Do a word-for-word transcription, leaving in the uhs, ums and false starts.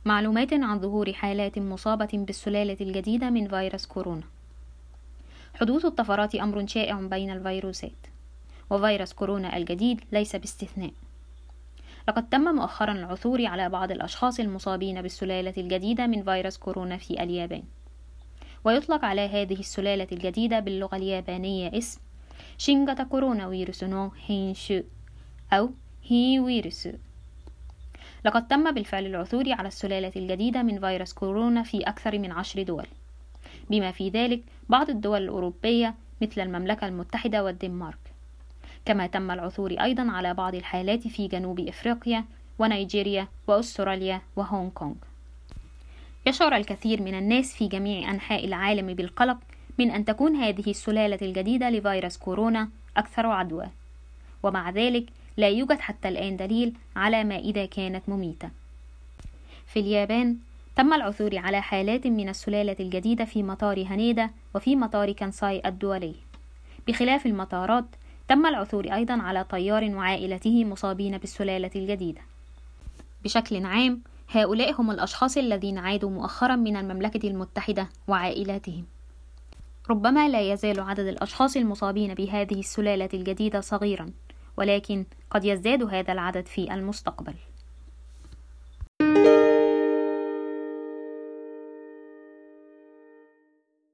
معلومات عن ظهور حالات مصابة بالسلالة الجديدة من فيروس كورونا. حدوث الطفرات أمر شائع بين الفيروسات، وفيروس كورونا الجديد ليس باستثناء. لقد تم مؤخرا العثور على بعض الأشخاص المصابين بالسلالة الجديدة من فيروس كورونا في اليابان، ويطلق على هذه السلالة الجديدة باللغة اليابانية اسم شينغاتا كورونا فيروس نو هينشو أو هي فيروس. لقد تم بالفعل العثور على السلالة الجديدة من فيروس كورونا في أكثر من عشر دول، بما في ذلك بعض الدول الأوروبية مثل المملكة المتحدة والدنمارك. كما تم العثور أيضا على بعض الحالات في جنوب إفريقيا ونيجيريا وأستراليا وهونغ كونغ. يشعر الكثير من الناس في جميع أنحاء العالم بالقلق من أن تكون هذه السلالة الجديدة لفيروس كورونا أكثر عدوى، ومع ذلك لا يوجد حتى الآن دليل على ما إذا كانت مميتة. في اليابان تم العثور على حالات من السلالة الجديدة في مطار هانيدا وفي مطار كانساي الدولي. بخلاف المطارات تم العثور أيضا على طيار وعائلته مصابين بالسلالة الجديدة. بشكل عام هؤلاء هم الأشخاص الذين عادوا مؤخرا من المملكة المتحدة وعائلاتهم. ربما لا يزال عدد الأشخاص المصابين بهذه السلالة الجديدة صغيرا، ولكن قد يزداد هذا العدد في المستقبل.